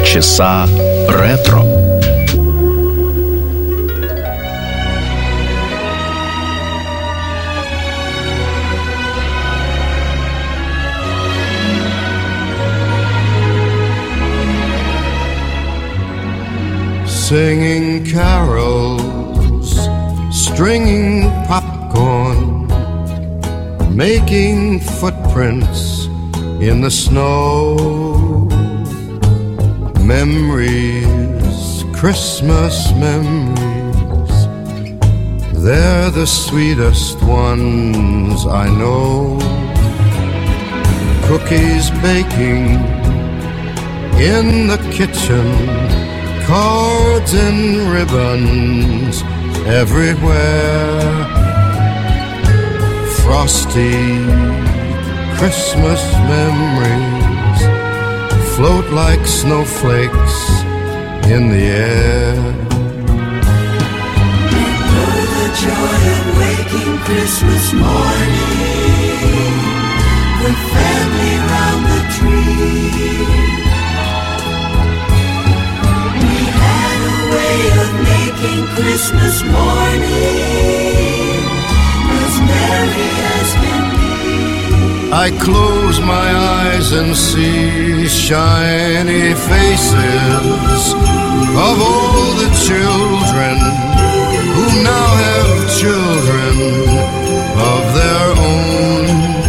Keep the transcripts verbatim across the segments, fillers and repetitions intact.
Полчаса ретро. Singing carols, stringing popcorn, making footprints in the snow. Memories, Christmas memories, they're the sweetest ones I know. Cookies baking in the kitchen, cards and ribbons everywhere. Frosty Christmas memories float like snowflakes in the air. Remember the joy of waking Christmas morning with family round the tree. Way of making Christmas morning as merry as can be. I close my eyes and see shiny faces of all the children who now have children of their own.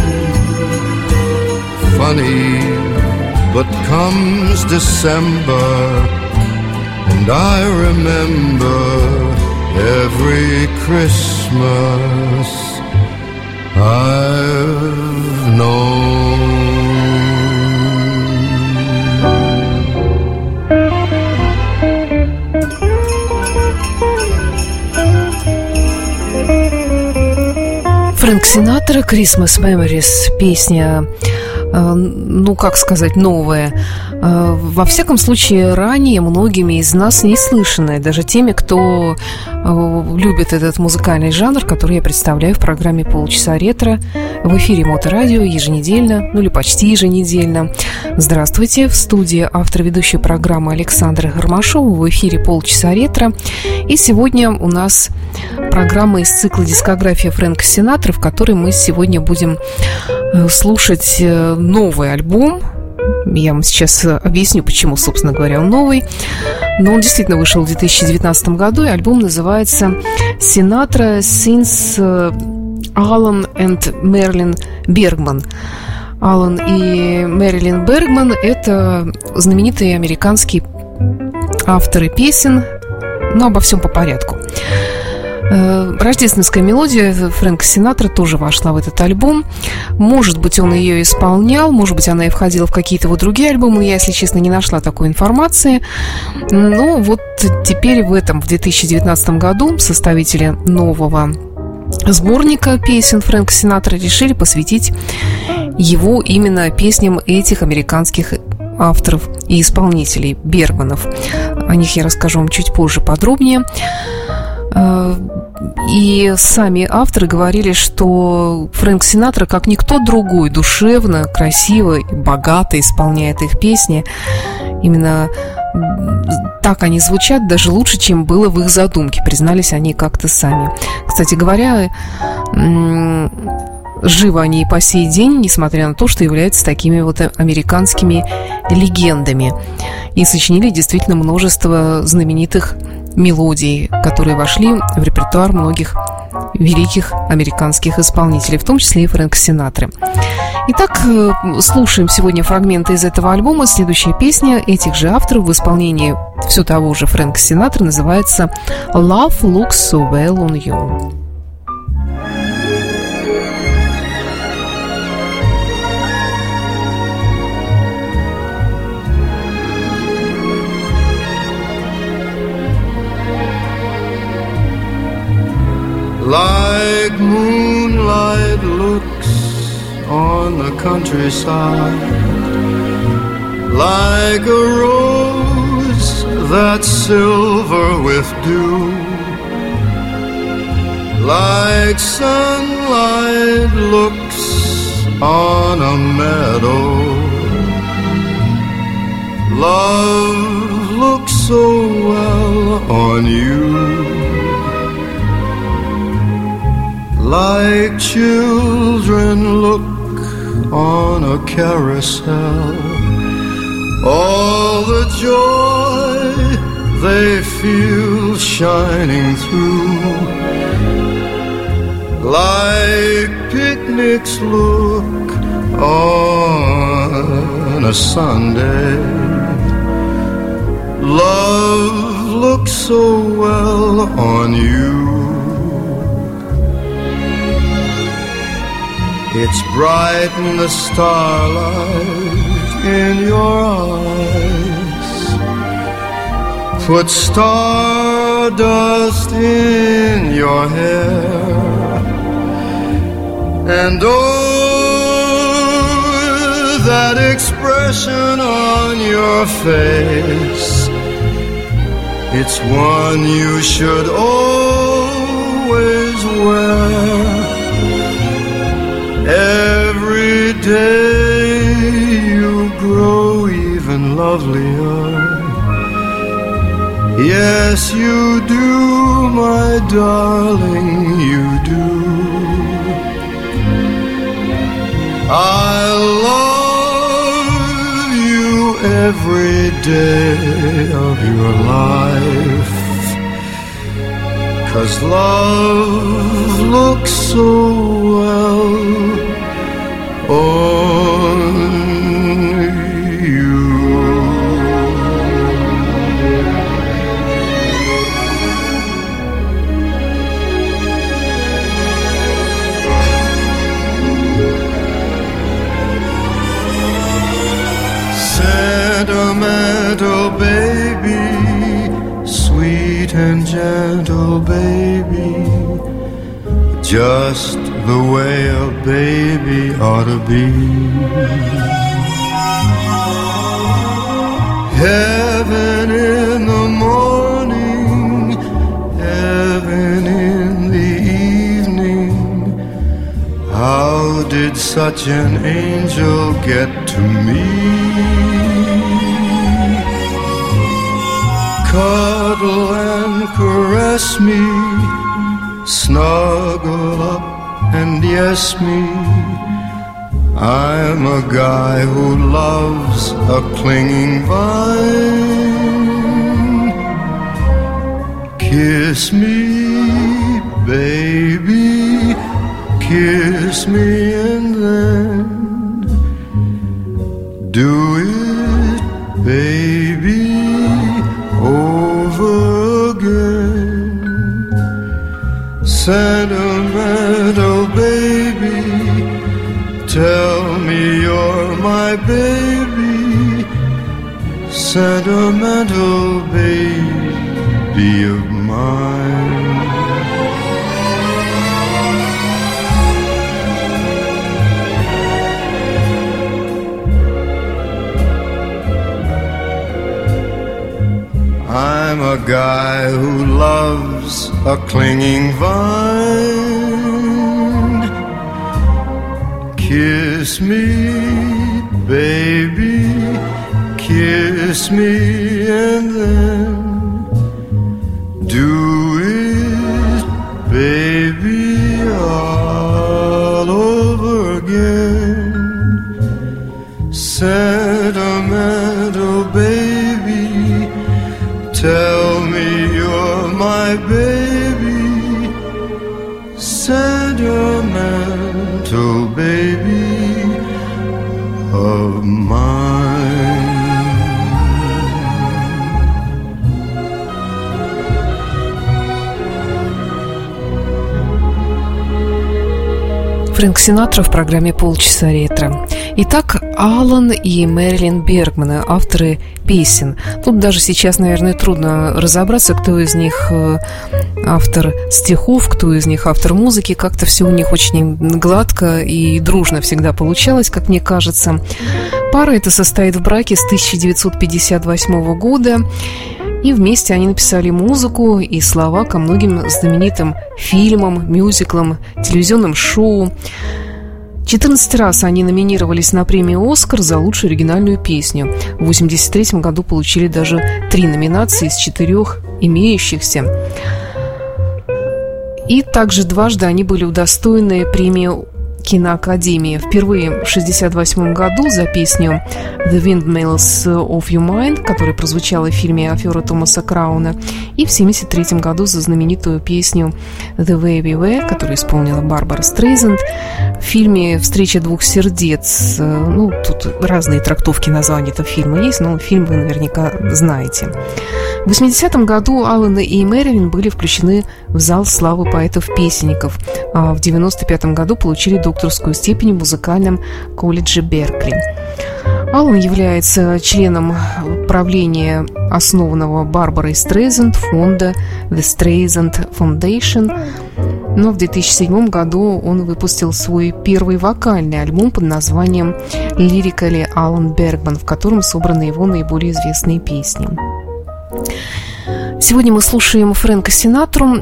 Funny, but comes December, and I remember every Christmas I've known. Фрэнк Синатра, Christmas Memories, песня, ну, как сказать, новая. Во всяком случае, ранее многими из нас не слышанная, даже теми, кто любит этот музыкальный жанр, который я представляю в программе «Полчаса ретро» в эфире Моторадио еженедельно, ну или почти еженедельно. Здравствуйте, в студии автор ведущей программы Александра Гармашова, в эфире «Полчаса ретро». И сегодня у нас программа из цикла «Дискография Фрэнка Синатры», в которой мы сегодня будем слушать новый альбом. Я вам сейчас объясню, почему, собственно говоря, он новый. Но он действительно вышел в две тысячи девятнадцатом году, и альбом называется «Sinatra Since Alan and Marilyn Bergman». Алан и Мэрилин Бергман – это знаменитые американские авторы песен, но обо всем по порядку. Рождественская мелодия Фрэнка Синатра тоже вошла в этот альбом. Может быть, он ее исполнял, может быть, она и входила в какие-то вот другие альбомы. Я, если честно, не нашла такой информации. Но вот теперь в этом, в две тысячи девятнадцатом году, составители нового сборника песен Фрэнка Синатра решили посвятить его именно песням этих американских авторов и исполнителей, Бергманов. О них я расскажу вам чуть позже подробнее. И сами авторы говорили, что Фрэнк Синатра, как никто другой, душевно, красиво и богато исполняет их песни. Именно так они звучат, даже лучше, чем было в их задумке, признались они как-то сами. Кстати говоря, живы они и по сей день, несмотря на то, что являются такими вот американскими легендами. И сочинили действительно множество знаменитых мелодий, которые вошли в репертуар многих великих американских исполнителей, в том числе и Фрэнка Синатры. Итак, слушаем сегодня фрагменты из этого альбома. Следующая песня этих же авторов в исполнении все того же Фрэнка Синатры называется «Love Looks So Well On You». Like moonlight looks on the countryside, like a rose that's silver with dew, like sunlight looks on a meadow, Love looks so well on you, like children look on a carousel. All the joy they feel shining through, like picnics look on a Sunday. Love looks so well on you. It's bright in the starlight in your eyes. Put stardust in your hair, and oh, that expression on your face, it's one you should always wear. Every day you grow even lovelier. Yes, you do, my darling, you do. I love you every day of your life, 'cause love looks so well on you. Sentimental baby, sweet and gentle baby, just the way a baby ought to be. Heaven in the morning, heaven in the evening. How did such an angel get to me? Cuddle and caress me, snuggle up and yes me. I'm a guy who loves a clinging vine. Kiss me, baby, kiss me, and then do it, baby, over again. Sentimental baby, tell me you're my baby. Sentimental baby of mine. I'm a guy who loves a clinging vine. Kiss me, baby, kiss me, and then do it, baby, all over again. Sentimental baby, tell me you're my baby. Sentimental baby of mine. Фрэнк Синатра в программе «Полчаса ретро». Итак, Алан и Мэрилин Бергманы, авторы песен. Тут даже сейчас, наверное, трудно разобраться, кто из них автор стихов, кто из них автор музыки. Как-то все у них очень гладко и дружно всегда получалось, как мне кажется. Пара эта состоит в браке с тысяча девятьсот пятьдесят восьмого года. И вместе они написали музыку и слова ко многим знаменитым фильмам, мюзиклам, телевизионным шоу. четырнадцать раз они номинировались на премию «Оскар» за лучшую оригинальную песню. В восемьдесят третьем году получили даже три номинации из четырех имеющихся. И также дважды они были удостоены премии киноакадемии. Впервые в шестьдесят восьмом году за песню «The Windmills of Your Mind», которая прозвучала в фильме «Афера» Томаса Крауна, и в семьдесят третьем году за знаменитую песню «The Way We Were», которую исполнила Барбара Стрейзанд в фильме «Встреча двух сердец». Ну, тут разные трактовки названия этого фильма есть, но фильм вы наверняка знаете. В восьмидесятом году Аллен и Мэрилин были включены в зал славы поэтов-песенников, а в девяносто пятом году получили докторскую степень в музыкальном колледже Беркли. Аллен является членом правления основанного Барбарой Стрейзанд фонда The Streisand Foundation, но в две тысячи седьмом году он выпустил свой первый вокальный альбом под названием «Lyrically Alan Bergman», в котором собраны его наиболее известные песни. Сегодня мы слушаем Фрэнка Синатру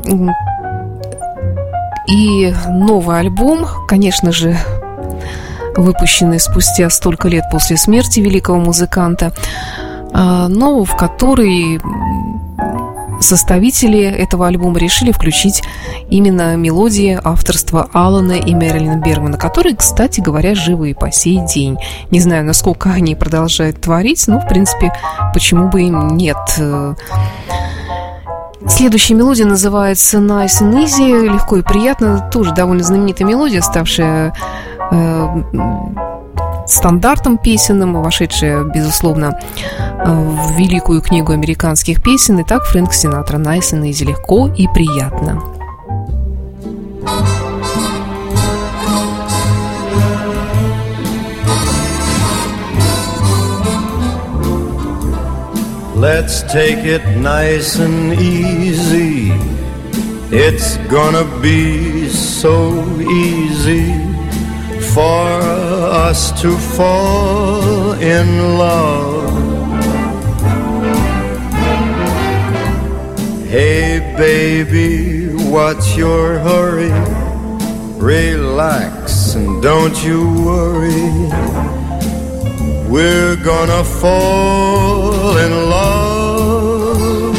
и новый альбом, конечно же, выпущенный спустя столько лет после смерти великого музыканта, но в который составители этого альбома решили включить именно мелодии авторства Аллена и Мэрилина Бергмана, которые, кстати говоря, живы и по сей день. Не знаю, насколько они продолжают творить, но, в принципе, почему бы им нет. Следующая мелодия называется «Nice and Easy», легко и приятно, тоже довольно знаменитая мелодия, ставшая э, стандартом песенным, вошедшая, безусловно, в великую книгу американских песен. Итак, Фрэнк Синатра, «Nice and Easy», легко и приятно. Let's take it nice and easy. It's gonna be so easy for us to fall in love. Hey baby, what's your hurry? Relax and don't you worry. We're gonna fall in love.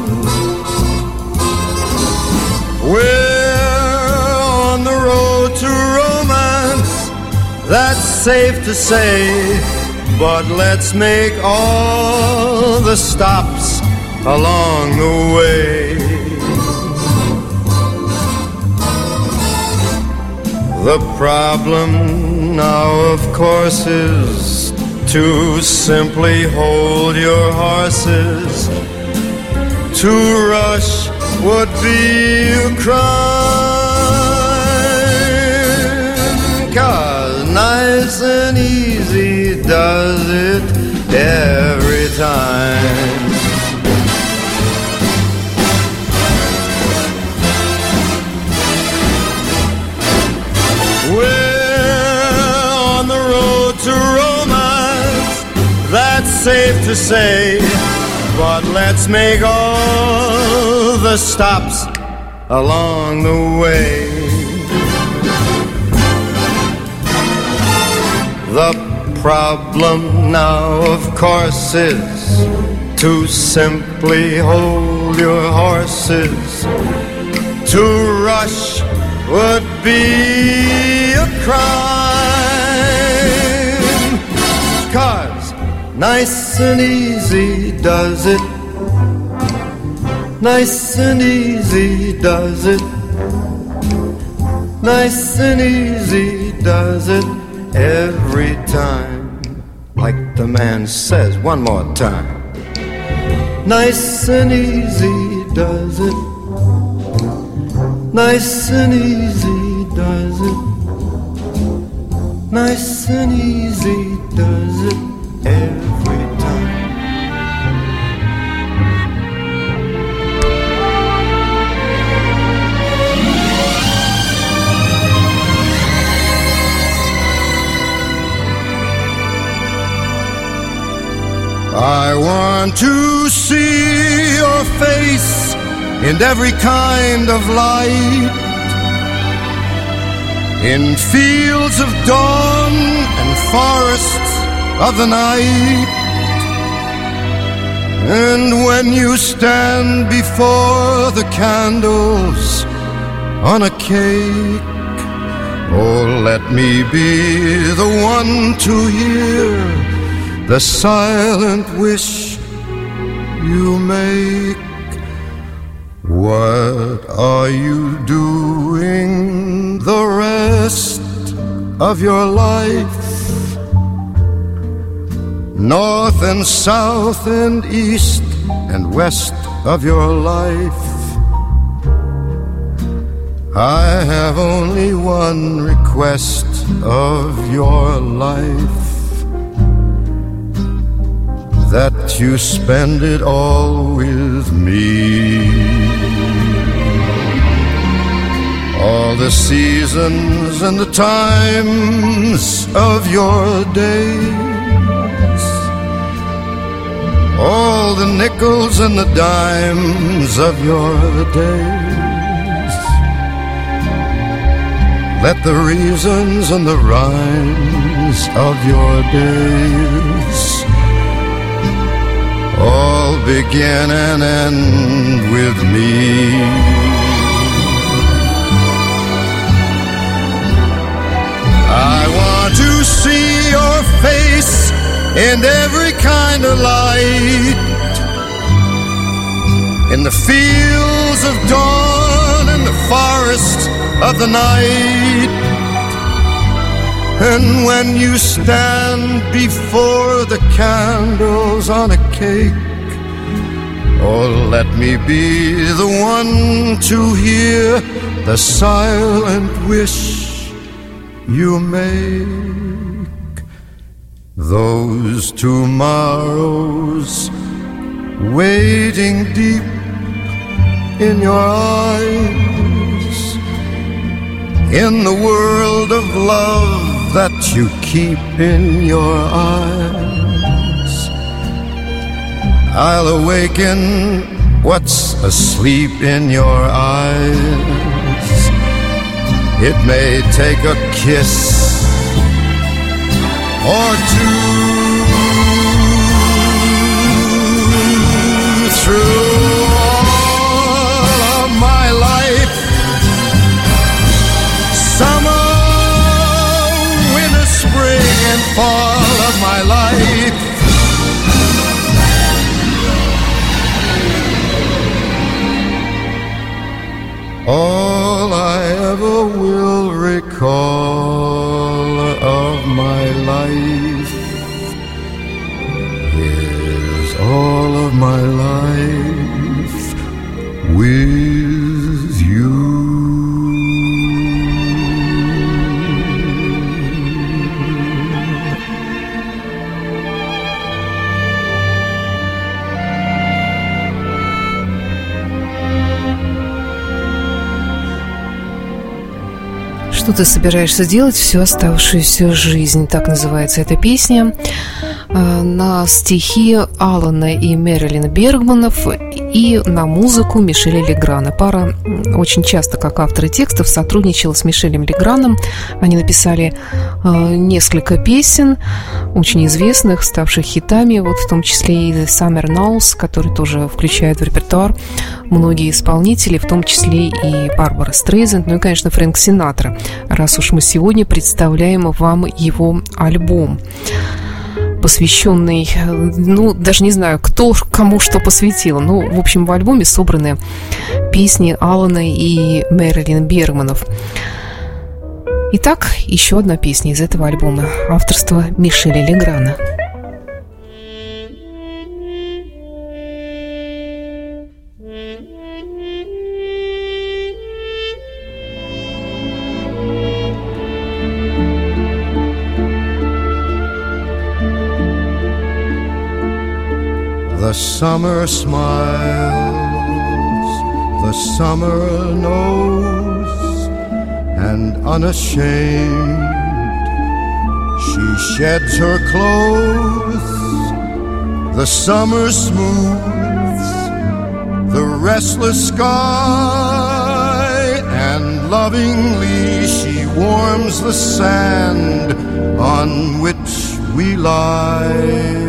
We're on the road to romance, that's safe to say, but let's make all the stops along the way. The problem now, of course, is to simply hold your horses. To rush would be a crime, 'cause nice and easy does it every time. We're on the road to romance, that's safe to say, but let's make all the stops along the way. The problem now, of course, is to simply hold your horses. To rush would be a crime, 'cause nice and easy does it. Nice and easy does it. Nice and easy does it every time. Like the man says, one more time. Nice and easy does it. Nice and easy does it. Nice and easy does it every time. I want to see your face in every kind of light. in fields of dawn and forests of the night. And when you stand before the candles on a cake, oh, let me be the one to hear the silent wish you make. What are you doing the rest of your life? North and south and east and west of your life. I have only one request of your life, that you spend it all with me. All the seasons and the times of your days, all the nickels and the dimes of your days. Let the reasons and the rhymes of your days all begin and end with me. I want to see your face in every kind of light, in the fields of dawn and the forests of the night. And when you stand before the candles on a cake, oh, let me be the one to hear the silent wish you make. Those tomorrows waiting deep in your eyes, in the world of love that you keep in your eyes. I'll awaken what's asleep in your eyes. It may take a kiss or two. Through all of my life, summer, winter, spring, and fall of my life, all I ever will recall of my life is all of my life with you. Что ты собираешься делать всю оставшуюся жизнь? Так называется эта песня. На стихи Алана и Мэрилин Бергманов и на музыку Мишеля Леграна. Пара очень часто, как авторы текстов, сотрудничала с Мишелем Леграном. Они написали несколько песен, очень известных, ставших хитами, вот в том числе и The Summer Knows, который тоже включает в репертуар многие исполнители, в том числе и Барбара Стрейзенд, ну и, конечно, Фрэнк Синатра, раз уж мы сегодня представляем вам его альбом, посвященный, ну, даже не знаю, кто кому что посвятил. Ну, в общем, в альбоме собраны песни Алана и Мэрилин Бергманов. Итак, еще одна песня из этого альбома, авторства Мишеля Леграна. The summer smiles, the summer knows, and unashamed she sheds her clothes. The summer smooths the restless sky, and lovingly she warms the sand on which we lie.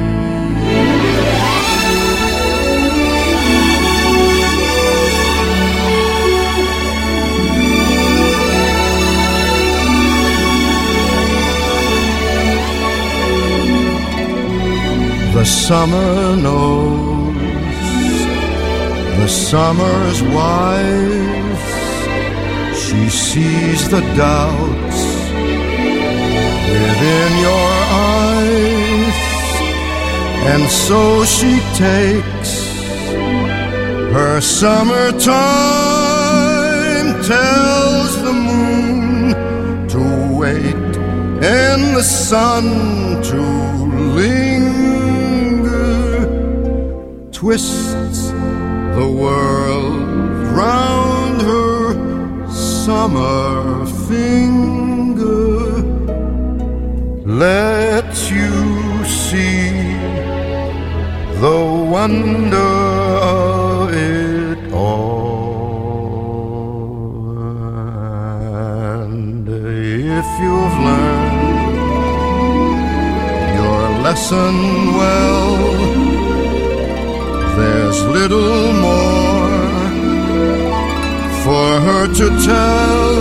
The summer knows, the summer's wise. She sees the doubts within your eyes, and so she takes her summertime, tells the moon to wait and the sun to linger, twists the world round her summer finger, lets you see the wonder of it all. And if you've learned your lesson well, there's little more for her to tell.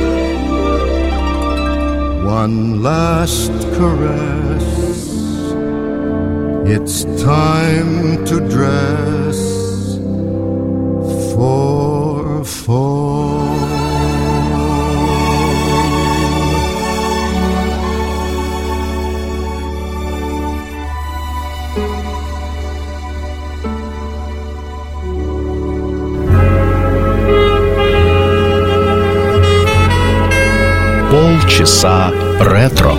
One last caress, it's time to dress for fall. Полчаса ретро.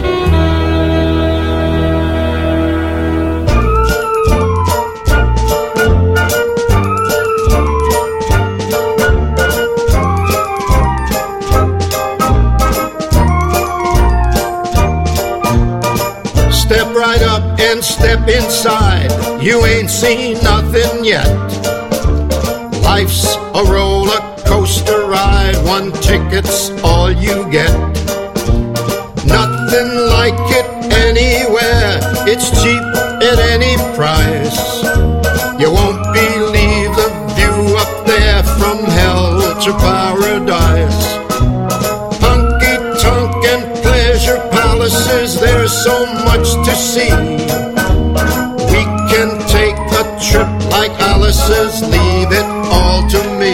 Step right up and step inside. You ain't seen nothing yet. Life's a roller coaster ride. One ticket's all you get. Nothing like it anywhere. It's cheap at any price. You won't believe the view up there from hell to paradise. Honky-tonk and pleasure palaces, there's so much to see. We can take a trip like Alice's, leave it all to me.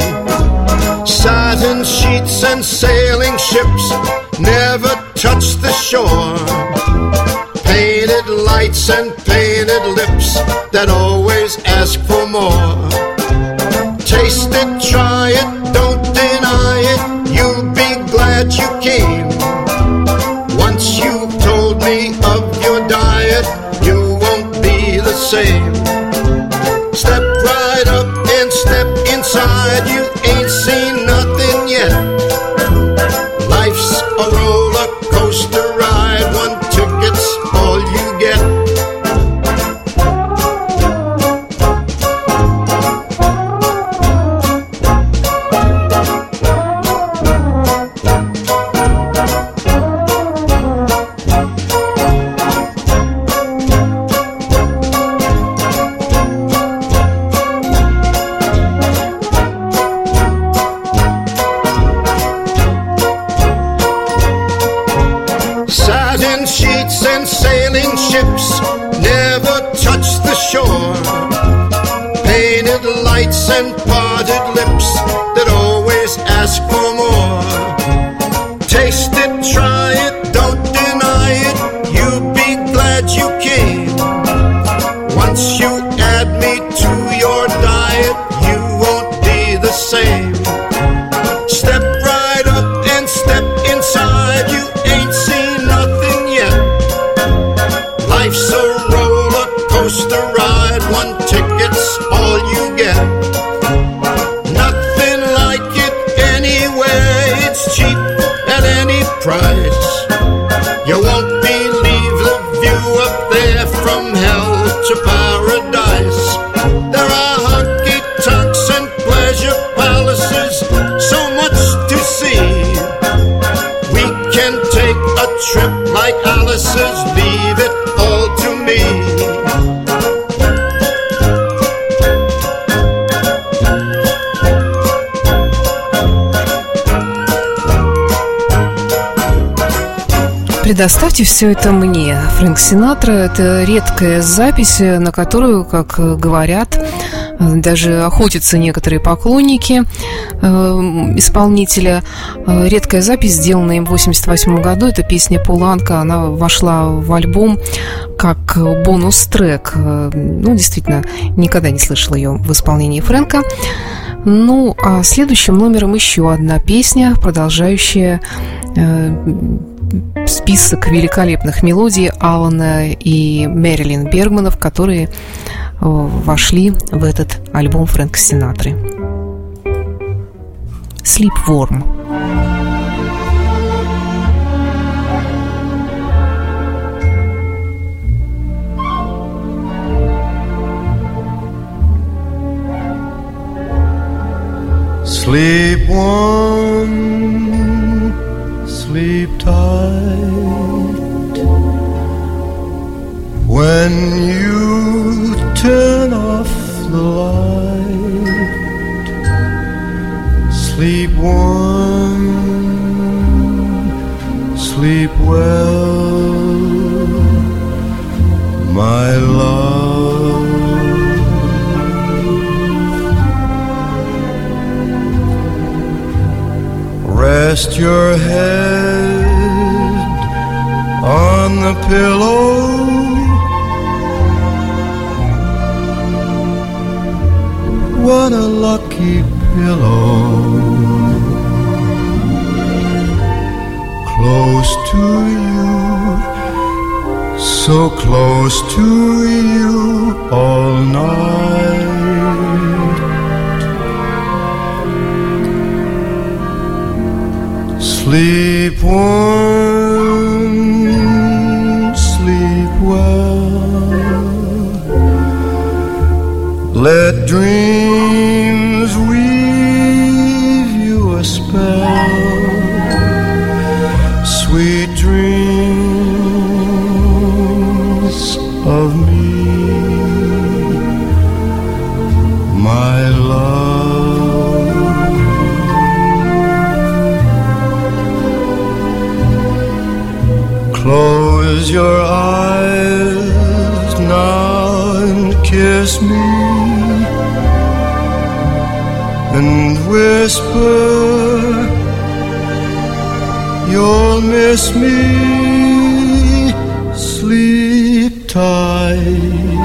Satin sheets and sailing ships never touch the shore. Painted lights and painted lips that always ask for more. Taste it, try it, don't deny it. You'll be glad you came. Once you've told me of your diet, you won't be the same. Step right up and step inside. You ain't seen nothing yet. Life's a roller coaster ride. One ticket's all you get. And parted lips that always ask for more. Taste it, try it, don't deny it. You'll be glad you came. Once you add me to your diet, you won't be the same. Step right up and step inside. You ain't seen nothing yet. Life's a roller coaster ride. One ticket's all you get. Price. You won't believe the view up there from hell to paradise. There are honky-tonks and pleasure palaces, so much to see. «Предоставьте все это мне». Фрэнк Синатра – это редкая запись, на которую, как говорят, даже охотятся некоторые поклонники э, исполнителя. Редкая запись, сделанная им в восемьдесят восьмом году. Это песня «Пол Анка». Она вошла в альбом как бонус-трек. Ну, действительно, никогда не слышала ее в исполнении Фрэнка. Ну, а следующим номером еще одна песня, продолжающая э, список великолепных мелодий Алана и Мэрилин Бергманов, которые вошли в этот альбом Фрэнка Синатры. Sleep Warm. Sleep warm, sleep tight. When you turn off the light, sleep warm, sleep well, my love. Rest your head on the pillow. What a lucky pillow. Close to you, so close to you all night. Sleep warm, sleep well. Let dreams weave you a spell. Sweet dreams of me, my love. Close your eyes now and kiss me, and whisper you'll miss me. Sleep tight,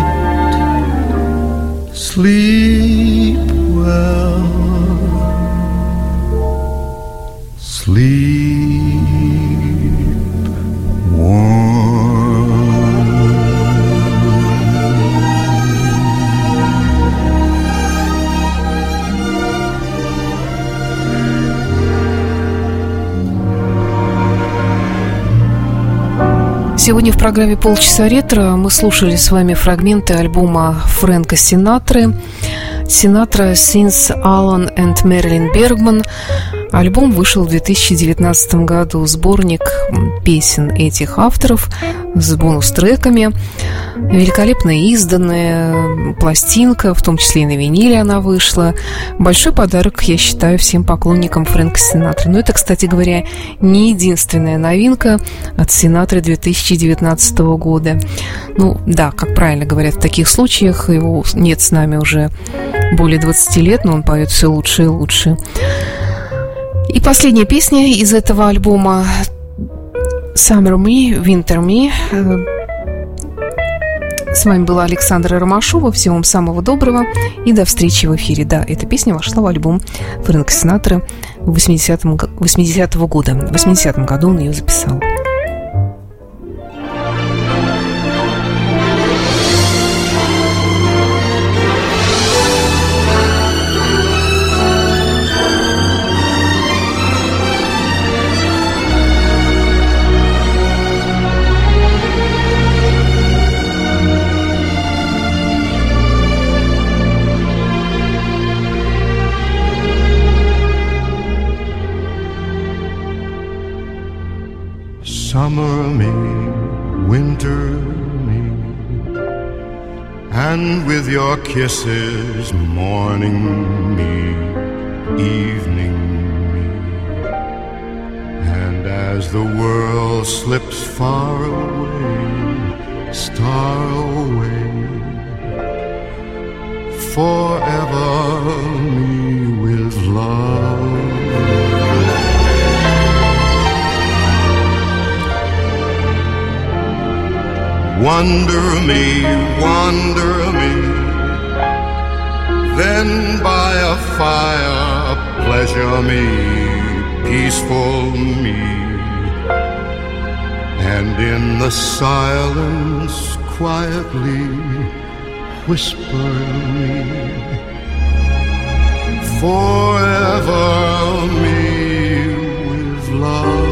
sleep well, sleep Сегодня в программе «Полчаса ретро» мы слушали с вами фрагменты альбома Фрэнка Синатры «Sinatra Sings Alan and Marilyn Bergman». Альбом вышел в две тысячи девятнадцатом году. Сборник песен этих авторов с бонус-треками. Великолепно изданная пластинка, в том числе и на виниле она вышла. Большой подарок, я считаю, всем поклонникам Фрэнка Синатры. Но это, кстати говоря, не единственная новинка от Синатры две тысячи девятнадцатого года. Ну да, как правильно говорят в таких случаях, его нет с нами уже более двадцати лет, но он поет все лучше и лучше. И последняя песня из этого альбома «Summer Me, Winter Me». С вами была Александра Ромашова. Всего вам самого доброго и до встречи в эфире. Да, эта песня вошла в альбом Фрэнка Синатры восьмидесятого года. В восьмидесятом году он ее записал. Summer me, winter me, and with your kisses, morning me, evening me, and as as the world slips far away, star away, forever me with love. Wonder me, wonder me, then by a fire pleasure me, peaceful me, and in the silence quietly whisper me, forever me with love.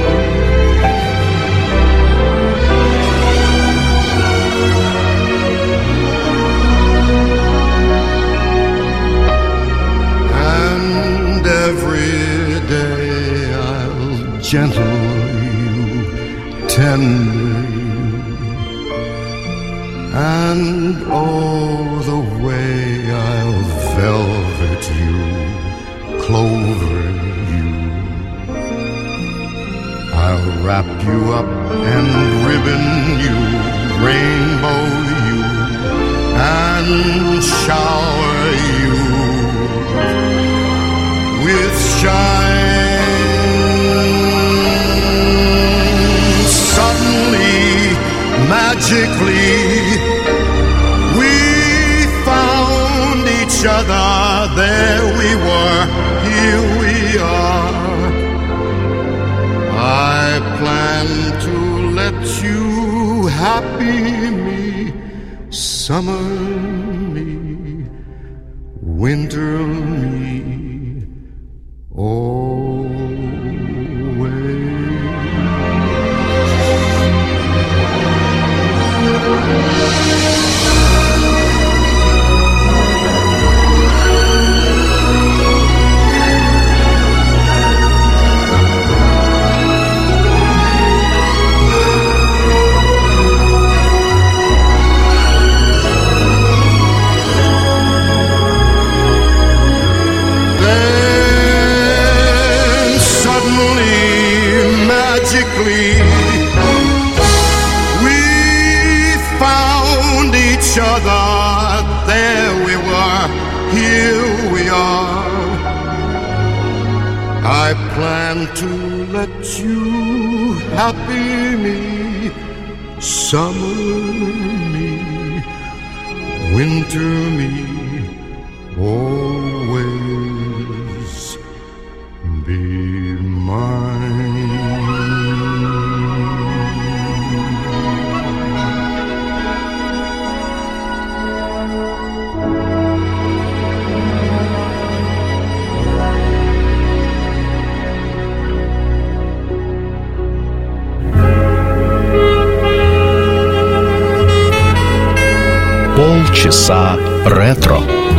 And every day I'll gentle you, tender you, and oh, the way I'll velvet you, clover you. I'll wrap you up and ribbon you, rainbow you, and shower you with shine. Suddenly, magically, we found each other. There we were, here we are. I plan to let you happy me, summer me, winter me, to let you happy me, summer me, winter me, always be mine. Полчаса ретро.